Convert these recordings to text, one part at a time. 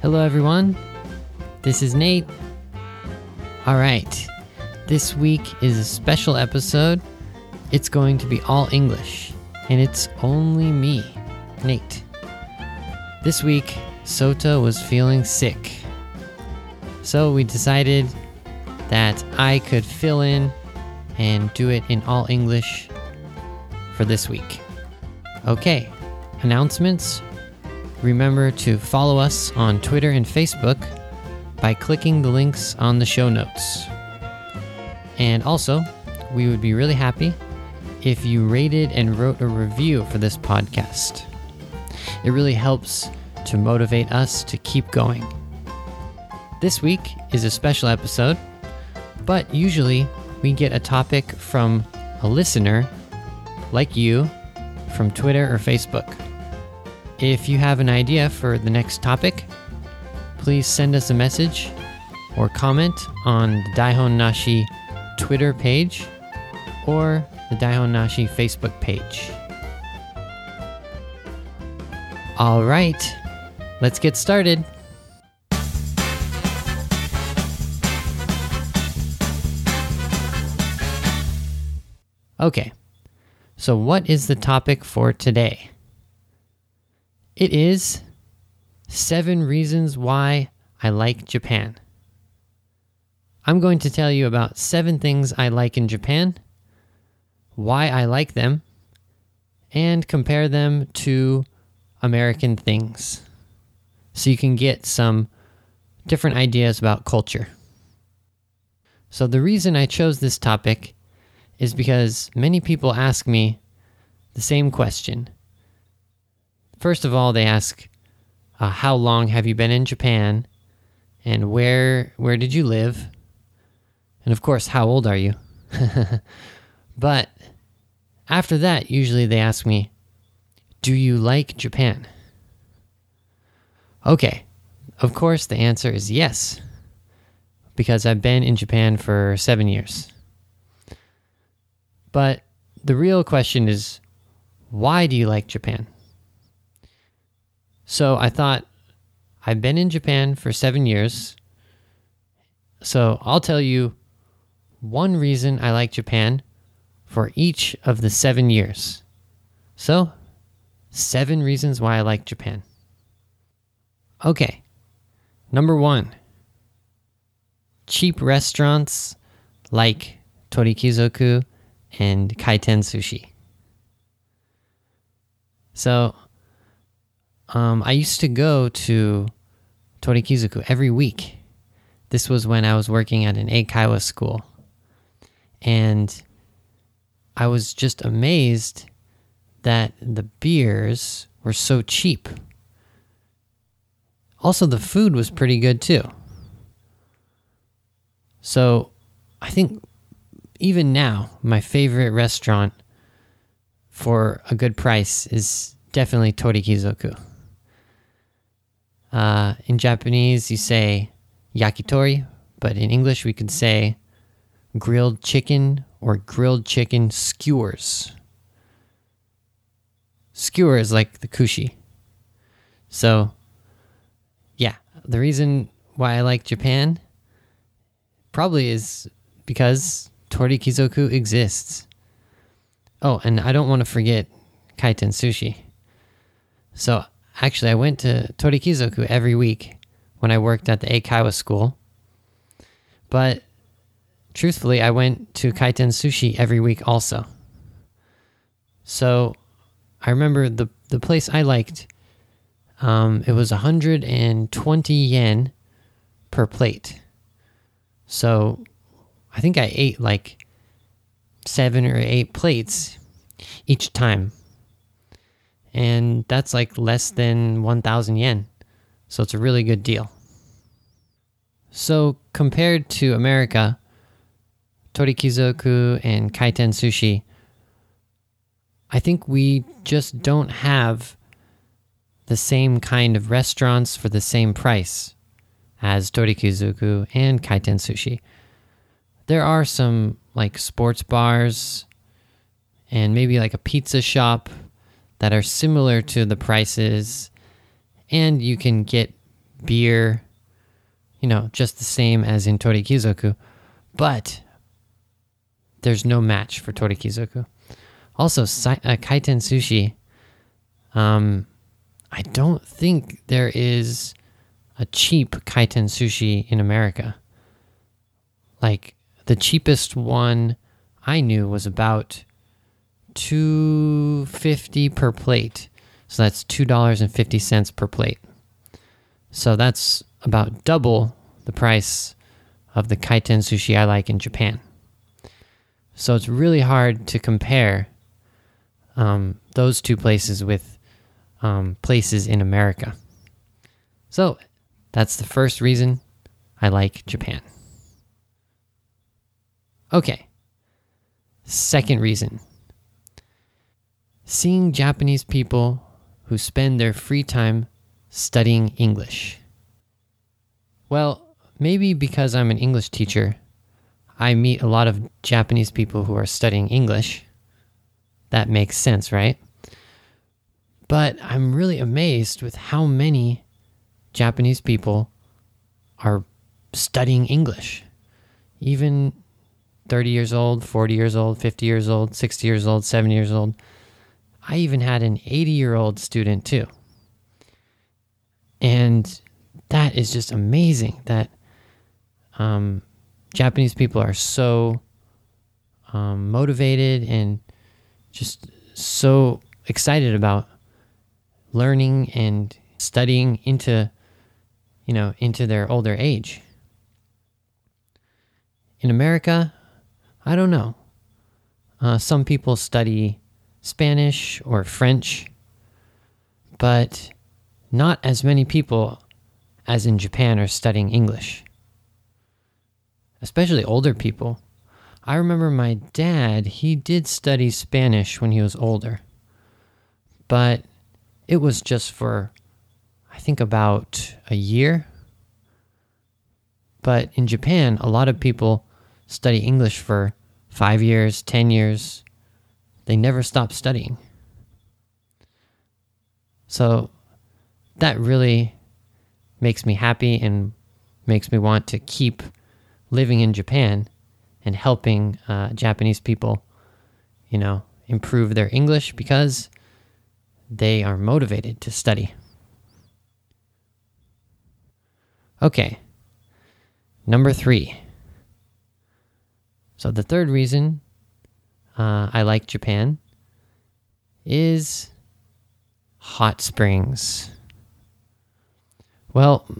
Hello everyone, this is Nate. Alright, this week is a special episode. It's going to be all English, and it's only me, Nate. This week, Sota was feeling sick, so we decided that I could fill in and do it in all English for this week. Okay, announcements. Remember to follow us on Twitter and Facebook by clicking the links on the show notes. And also, we would be really happy if you rated and wrote a review for this podcast. It really helps to motivate us to keep going. This week is a special episode, but usually we get a topic from a listener like you from Twitter or Facebook. If you have an idea for the next topic, please send us a message or comment on the Daihon Nashi Twitter page or the Daihon Nashi Facebook page. All right, let's get started. Okay, so what is the topic for today? It is 7 reasons why I like Japan. I'm going to tell you about 7 things I like in Japan, why I like them, and compare them to American things, so you can get some different ideas about culture. So the reason I chose this topic is because many people ask me the same question. First of all, they ask, how long have you been in Japan? And where did you live? And of course, how old are you? But after that, usually they ask me, do you like Japan? Okay, of course the answer is yes, because I've been in Japan for 7 years. But the real question is, why do you like Japan? So I thought, I've been in Japan for 7 years, so I'll tell you one reason I like Japan for each of the 7 years. So, 7 reasons why I like Japan. Okay, number 1. Cheap restaurants like Torikizoku and Kaiten Sushi. So, I used to go to Torikizoku every week. This was when I was working at an Eikaiwa school. And I was just amazed that the beers were so cheap. Also, the food was pretty good too. So, I think even now, my favorite restaurant for a good price is definitely Torikizoku. In Japanese, you say yakitori, but in English, we could say grilled chicken or grilled chicken skewers. Skewers like the kushi. So, yeah, the reason why I like Japan probably is because Torikizoku exists. Oh, and I don't want to forget Kaiten Sushi. So, actually, I went to Torikizoku every week when I worked at the Eikaiwa school. But truthfully, I went to Kaiten Sushi every week also. So I remember the place I liked, it was 120 yen per plate. So I think I ate like 7 or 8 plates each time. And that's like less than 1,000 yen. So it's a really good deal. So compared to America, Torikizoku and Kaiten Sushi, I think we just don't have the same kind of restaurants for the same price as Torikizoku and Kaiten Sushi. There are some like sports bars and maybe like a pizza shop that are similar to the prices, and you can get beer, just the same as in Torikizoku, but there's no match for Torikizoku. Also, kaiten sushi, I don't think there is a cheap kaiten sushi in America. Like, the cheapest one I knew was about $2.50 per plate. So that's $2.50 per plate. So that's about double the price of the kaiten sushi I like in Japan. So it's really hard to compare those two places with places in America. So that's the first reason I like Japan. Okay. Second reason. Seeing Japanese people who spend their free time studying English. Well, maybe because I'm an English teacher, I meet a lot of Japanese people who are studying English. That makes sense, right? But I'm really amazed with how many Japanese people are studying English. Even 30 years old, 40 years old, 50 years old, 60 years old, 70 years old. I even had an 80-year-old student too. And that is just amazing that Japanese people are so motivated and just so excited about learning and studying into their older age. In America, I don't know. Some people study Spanish or French, but not as many people as in Japan are studying English. Especially older people. I remember my dad, he did study Spanish when he was older, but it was just for, I think, about a year. But in Japan, a lot of people study English for 5 years, 10 years. They never stop studying. So that really makes me happy and makes me want to keep living in Japan and helping Japanese people, improve their English because they are motivated to study. Okay, number 3. So the third reason I like Japan is hot springs. Well,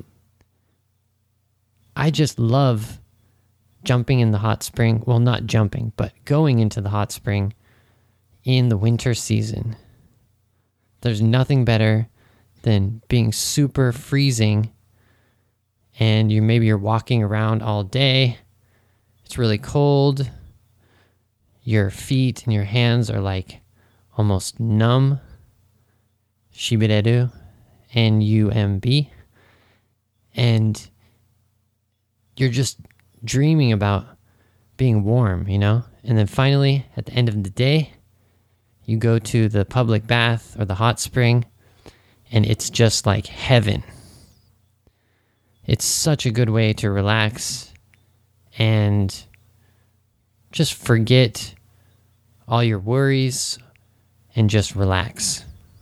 I just love jumping in the hot spring. Well, not jumping, but going into the hot spring in the winter season. There's nothing better than being super freezing and you're walking around all day. It's really cold. Your feet and your hands are like almost numb. Shibireru, N-U-M-B. And you're just dreaming about being warm, And then finally, at the end of the day, you go to the public bath or the hot spring, and it's just like heaven. It's such a good way to relax and just forget all your worries and just relax.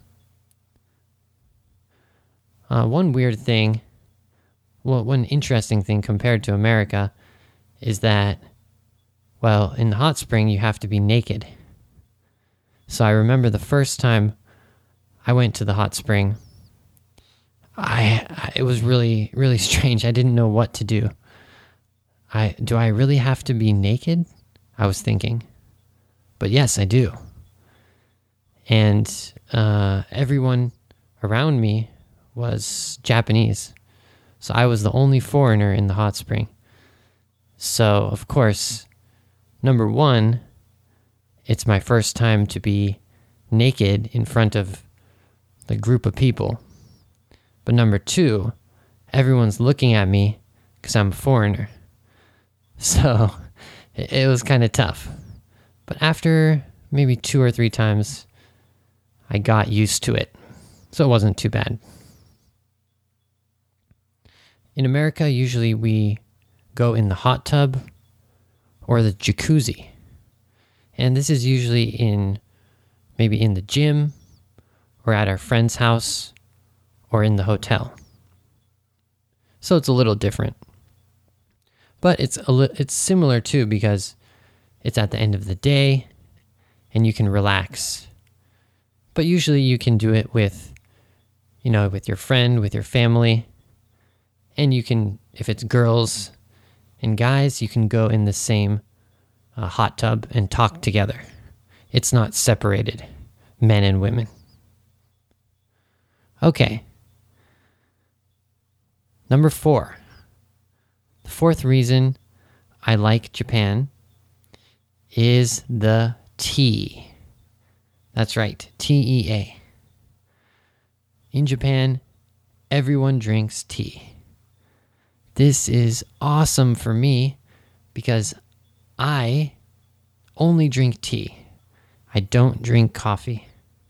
One interesting thing compared to America is that, well, in the hot spring, you have to be naked. So I remember the first time I went to the hot spring, it was really, really strange. I didn't know what to do. Do I really have to be naked? I was thinking. But yes, I do. And everyone around me was Japanese. So I was the only foreigner in the hot spring. So, of course, number 1, it's my first time to be naked in front of the group of people. But number 2, everyone's looking at me because I'm a foreigner. So it was kind of tough. But after maybe 2 or 3 times, I got used to it. So it wasn't too bad. In America, usually we go in the hot tub or the jacuzzi. And this is usually maybe in the gym or at our friend's house or in the hotel. So it's a little different. But it's similar too, because it's at the end of the day and you can relax. But usually you can do it with your friend, with your family. And you can, if it's girls and guys, you can go in the same hot tub and talk together. It's not separated, men and women. Okay. Number 4. The fourth reason I like Japan is the tea. That's right, TEA. In Japan, everyone drinks tea. This is awesome for me because I only drink tea. I don't drink coffee.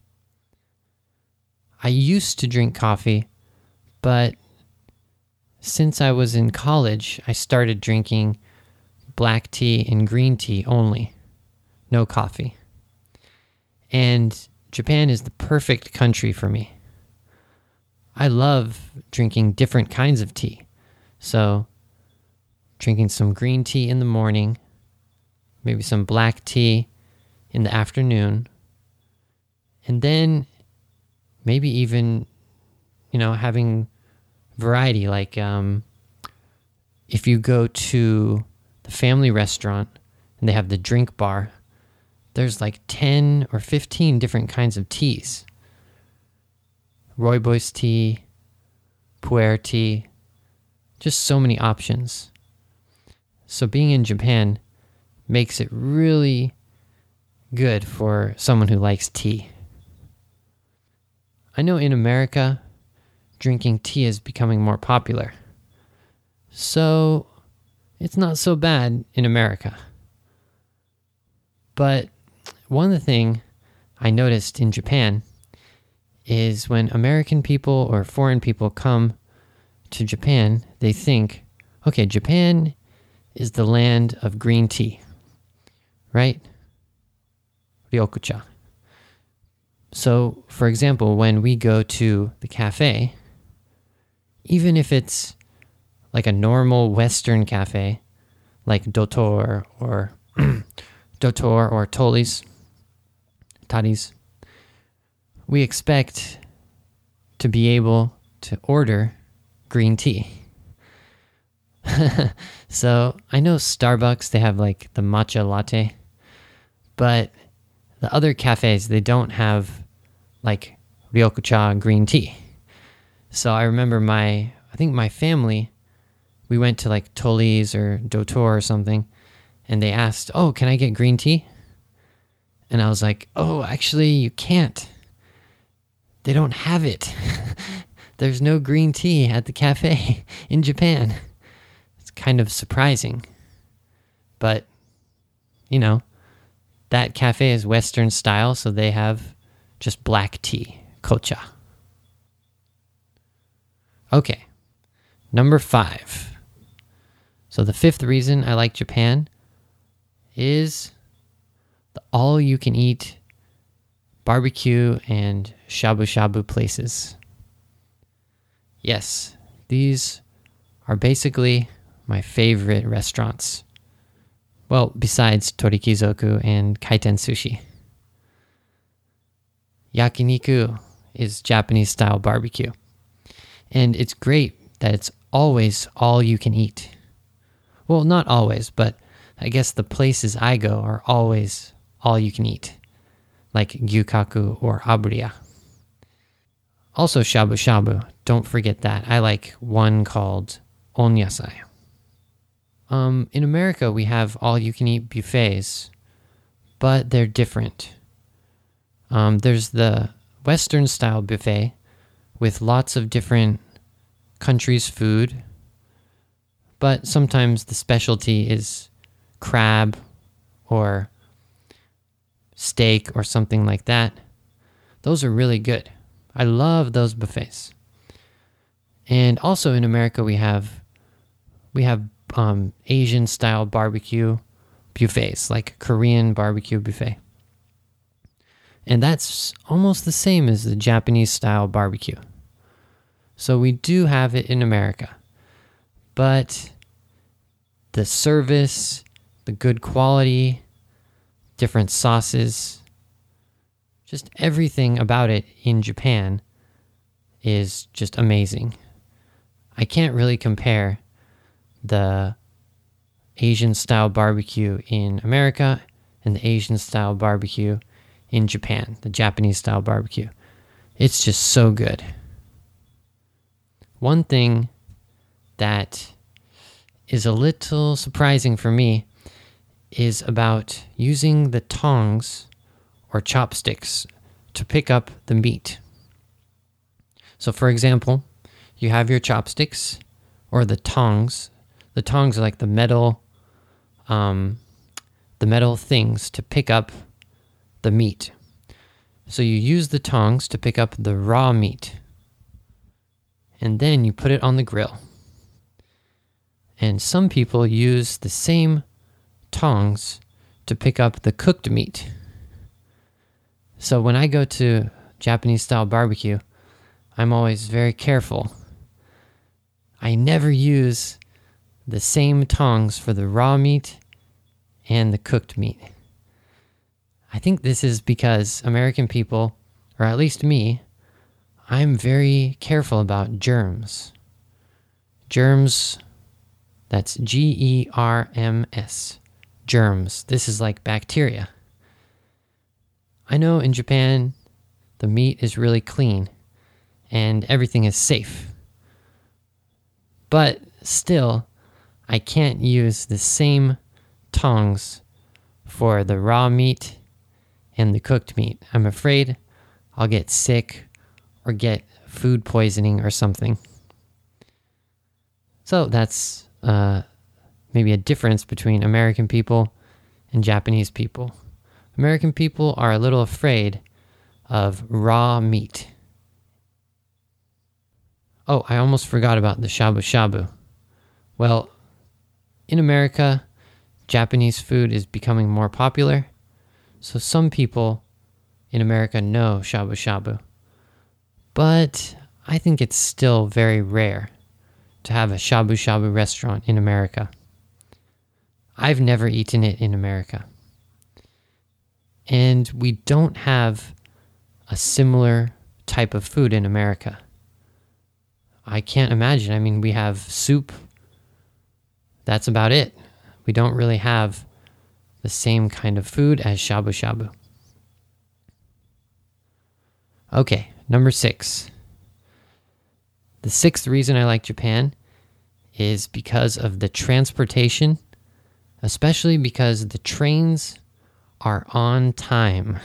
I used to drink coffee, but since I was in college, I started drinking black tea and green tea only. No coffee. And Japan is the perfect country for me. I love drinking different kinds of tea. So, drinking some green tea in the morning, maybe some black tea in the afternoon, and then maybe even, having variety. Like, if you go to the family restaurant and they have the drink bar, there's like 10 or 15 different kinds of teas. Rooibos tea, pu'er tea, just so many options. So being in Japan makes it really good for someone who likes tea. I know in America, drinking tea is becoming more popular. So it's not so bad in America. But one of the things I noticed in Japan is when American people or foreign people come to Japan, they think, okay, Japan is the land of green tea, right? Ryokucha. So, for example, when we go to the cafe, even if it's like a normal Western cafe, like Dotor or Tolli's, Tadi's, we expect to be able to order green tea. So I know Starbucks, they have like the matcha latte, but the other cafes, they don't have like ryokucha green tea. So I remember I think my family, we went to like Tolli's or Dotor or something, and they asked, oh, can I get green tea? And I was like, oh, actually you can't. They don't have it. There's no green tea at the cafe in Japan. It's kind of surprising. But, that cafe is Western style, so they have just black tea, kocha. Okay, number 5. So the 5th reason I like Japan is the all-you-can-eat barbecue and shabu-shabu places. Yes, these are basically my favorite restaurants. Well, besides Torikizoku and Kaiten Sushi. Yakiniku is Japanese-style barbecue. And it's great that it's always all you can eat. Well, not always, but I guess the places I go are always all you can eat, like Gyukaku or Abriya. Also shabu-shabu, don't forget that. I like one called onyasai. In America, we have all-you-can-eat buffets, but they're different. There's the Western-style buffet with lots of different countries' food, but sometimes the specialty is crab or steak or something like that. Those are really good. I love those buffets. And also in America, we have Asian style barbecue buffets, like Korean barbecue buffet. And that's almost the same as the Japanese style barbecue. So we do have it in America. But the service, the good quality, different sauces, just everything about it in Japan is just amazing. I can't really compare the Asian style barbecue in America and the Asian style barbecue in Japan, the Japanese style barbecue. It's just so good. One thing that is a little surprising for me is about using the tongs or chopsticks to pick up the meat. So for example, you have your chopsticks or the tongs. The tongs are like the metal things to pick up the meat. So you use the tongs to pick up the raw meat. And then you put it on the grill. And some people use the same tongs to pick up the cooked meat. So when I go to Japanese style barbecue, I'm always very careful. I never use the same tongs for the raw meat and the cooked meat. I think this is because American people, or at least me, I'm very careful about germs. Germs, that's Germs. Germs. This is like bacteria. I know in Japan, the meat is really clean and everything is safe. But still, I can't use the same tongs for the raw meat and the cooked meat. I'm afraid I'll get sick or get food poisoning or something. So that's maybe a difference between American people and Japanese people. American people are a little afraid of raw meat. Oh, I almost forgot about the shabu shabu. Well, in America, Japanese food is becoming more popular, so some people in America know shabu shabu. But I think it's still very rare to have a shabu shabu restaurant in America. I've never eaten it in America. And we don't have a similar type of food in America. I can't imagine. I mean, we have soup. That's about it. We don't really have the same kind of food as shabu shabu. Okay, number 6. The 6th reason I like Japan is because of the transportation, especially because the trains are on time.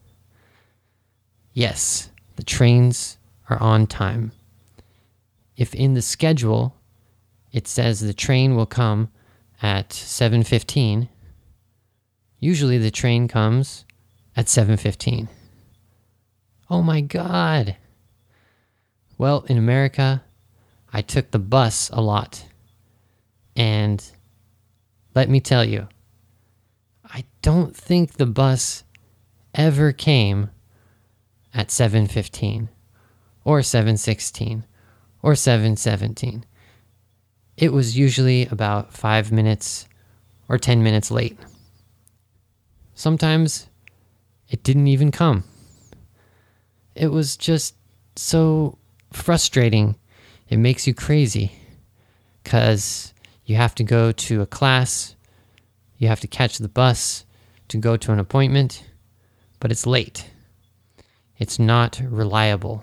Yes, the trains are on time. If in the schedule it says the train will come at 7:15, usually the train comes at 7:15. Oh my God! Well, in America, I took the bus a lot. And let me tell you, I don't think the bus ever came at 7:15 or 7:16 or 7:17. It was usually about 5 minutes or 10 minutes late. Sometimes it didn't even come. It was just so frustrating. It makes you crazy because you have to go to a class, you have to catch the bus to go to an appointment, but it's late. It's not reliable.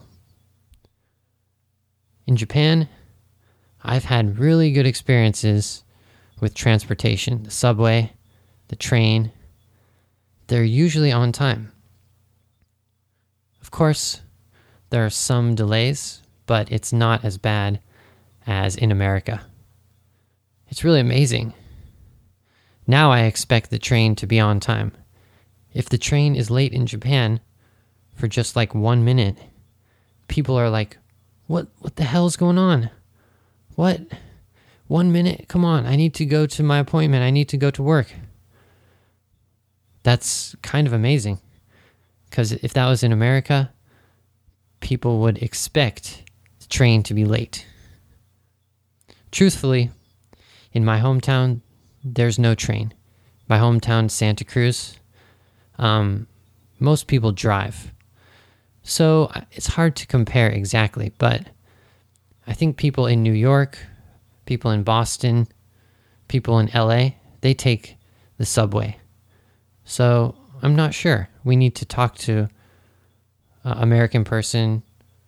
In Japan, I've had really good experiences with transportation. The subway, the train, they're usually on time. Of course, there are some delays, but it's not as bad as in America. It's really amazing. Now I expect the train to be on time. If the train is late in Japan for just like 1 minute, people are like, What the hell is going on? What? 1 minute? Come on, I need to go to my appointment. I need to go to work. That's kind of amazing. Because if that was in America, people would expect the train to be late. Truthfully, in my hometown, there's no train. My hometown, Santa Cruz, most people drive. So it's hard to compare exactly, but I think people in New York, people in Boston, people in LA, they take the subway. So I'm not sure. We need to talk to an American person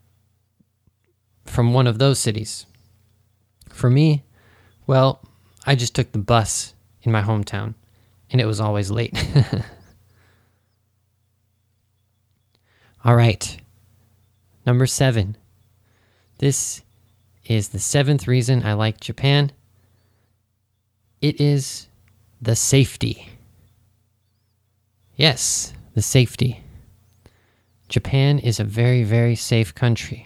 from one of those cities. For me, well, I just took the bus in my hometown, and it was always late. All right, number 7. This is the 7th reason I like Japan. It is the safety. Yes, the safety. Japan is a very, very safe country.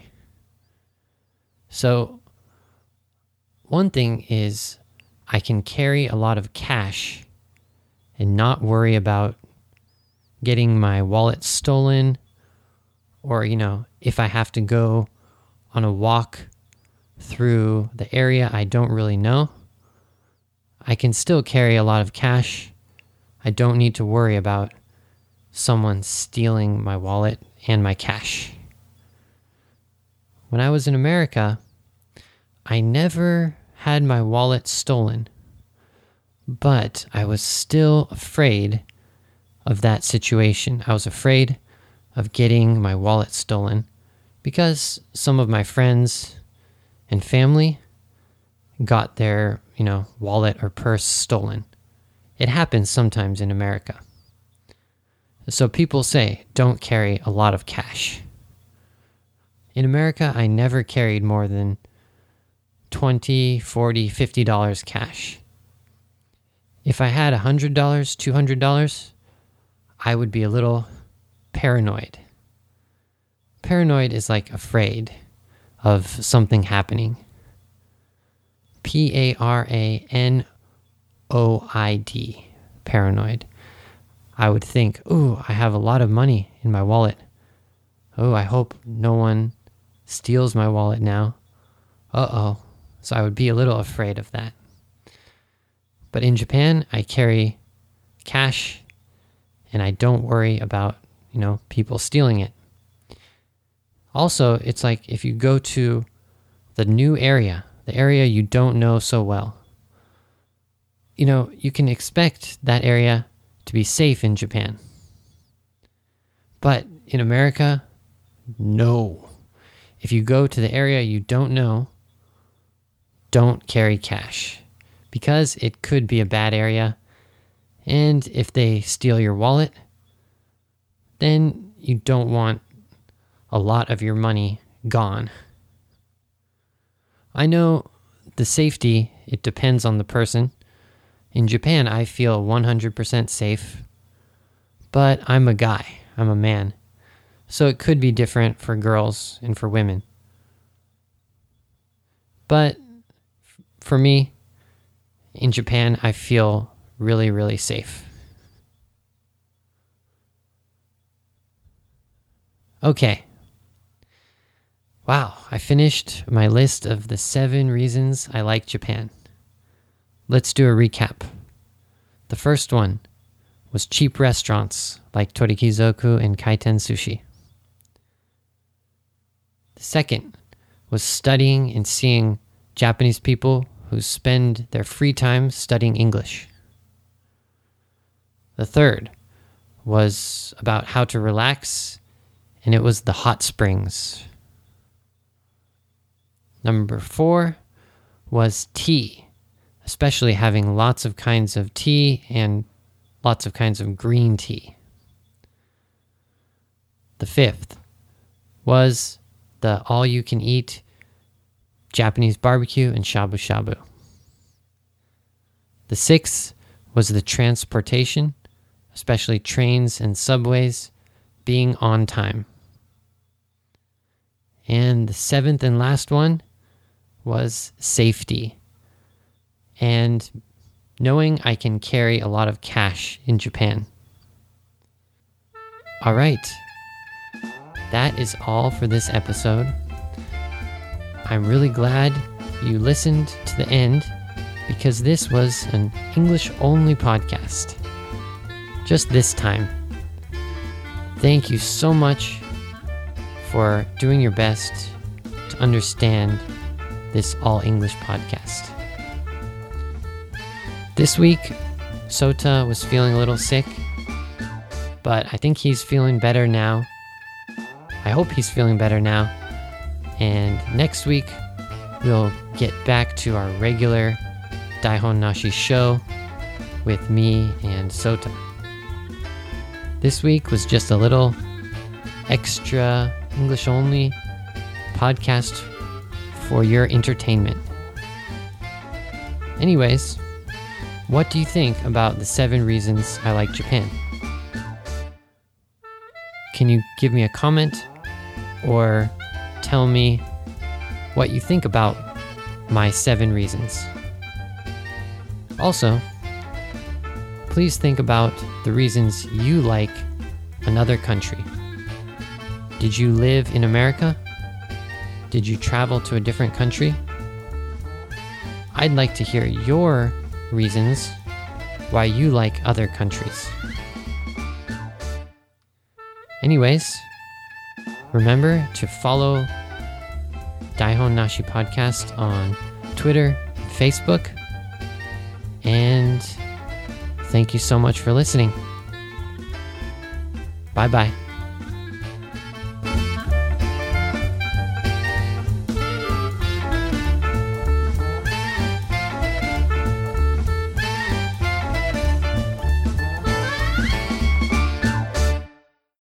So, one thing is I can carry a lot of cash and not worry about getting my wallet stolen, or, if I have to go on a walk through the area I don't really know, I can still carry a lot of cash. I don't need to worry about someone stealing my wallet and my cash. When I was in America, I never had my wallet stolen, but I was still afraid of that situation. I was afraid of getting my wallet stolen because some of my friends and family got their, wallet or purse stolen. It happens sometimes in America. So people say, don't carry a lot of cash. In America, I never carried more than $20, $40, $50 cash. If I had $100, $200, I would be a little paranoid. Paranoid is like afraid of something happening. Paranoid. Paranoid. I would think, I have a lot of money in my wallet. I hope no one steals my wallet now. So I would be a little afraid of that. But in Japan, I carry cash and I don't worry about, people stealing it. Also, it's like if you go to the new area, the area you don't know so well, you can expect that area to be safe in Japan. But in America, no. If you go to the area you don't know, don't carry cash because it could be a bad area. And if they steal your wallet, then you don't want a lot of your money gone. I know the safety, it depends on the person. In Japan, I feel 100% safe, but I'm a guy, I'm a man. So it could be different for girls and for women. But for me, in Japan, I feel really, really safe. Okay. Wow, I finished my list of the 7 reasons I like Japan. Let's do a recap. The first one was cheap restaurants like Torikizoku and Kaiten Sushi. The second was studying and seeing Japanese people who spend their free time studying English. The third was about how to relax, and it was the hot springs. Number 4 was tea, especially having lots of kinds of tea and lots of kinds of green tea. The 5th was the all-you-can-eat Japanese barbecue and shabu-shabu. The 6th was the transportation, especially trains and subways, being on time. And the seventh and last one was safety. And knowing I can carry a lot of cash in Japan. All right. That is all for this episode. I'm really glad you listened to the end because this was an English-only podcast. Just this time. Thank you so much for doing your best to understand this all-English podcast. This week, Sota was feeling a little sick, but I think he's feeling better now. I hope he's feeling better now. And next week, we'll get back to our regular Daihon Nashi show with me and Sota. This week was just a little extra English-only podcast for your entertainment. Anyways, what do you think about the 7 reasons I like Japan? Can you give me a comment or tell me what you think about my 7 reasons? Also, please think about the reasons you like another country. Did you live in America? Did you travel to a different country? I'd like to hear your reasons why you like other countries. Anyways, remember to follow Daihon Nashi Podcast on Twitter, Facebook, and thank you so much for listening. Bye-bye.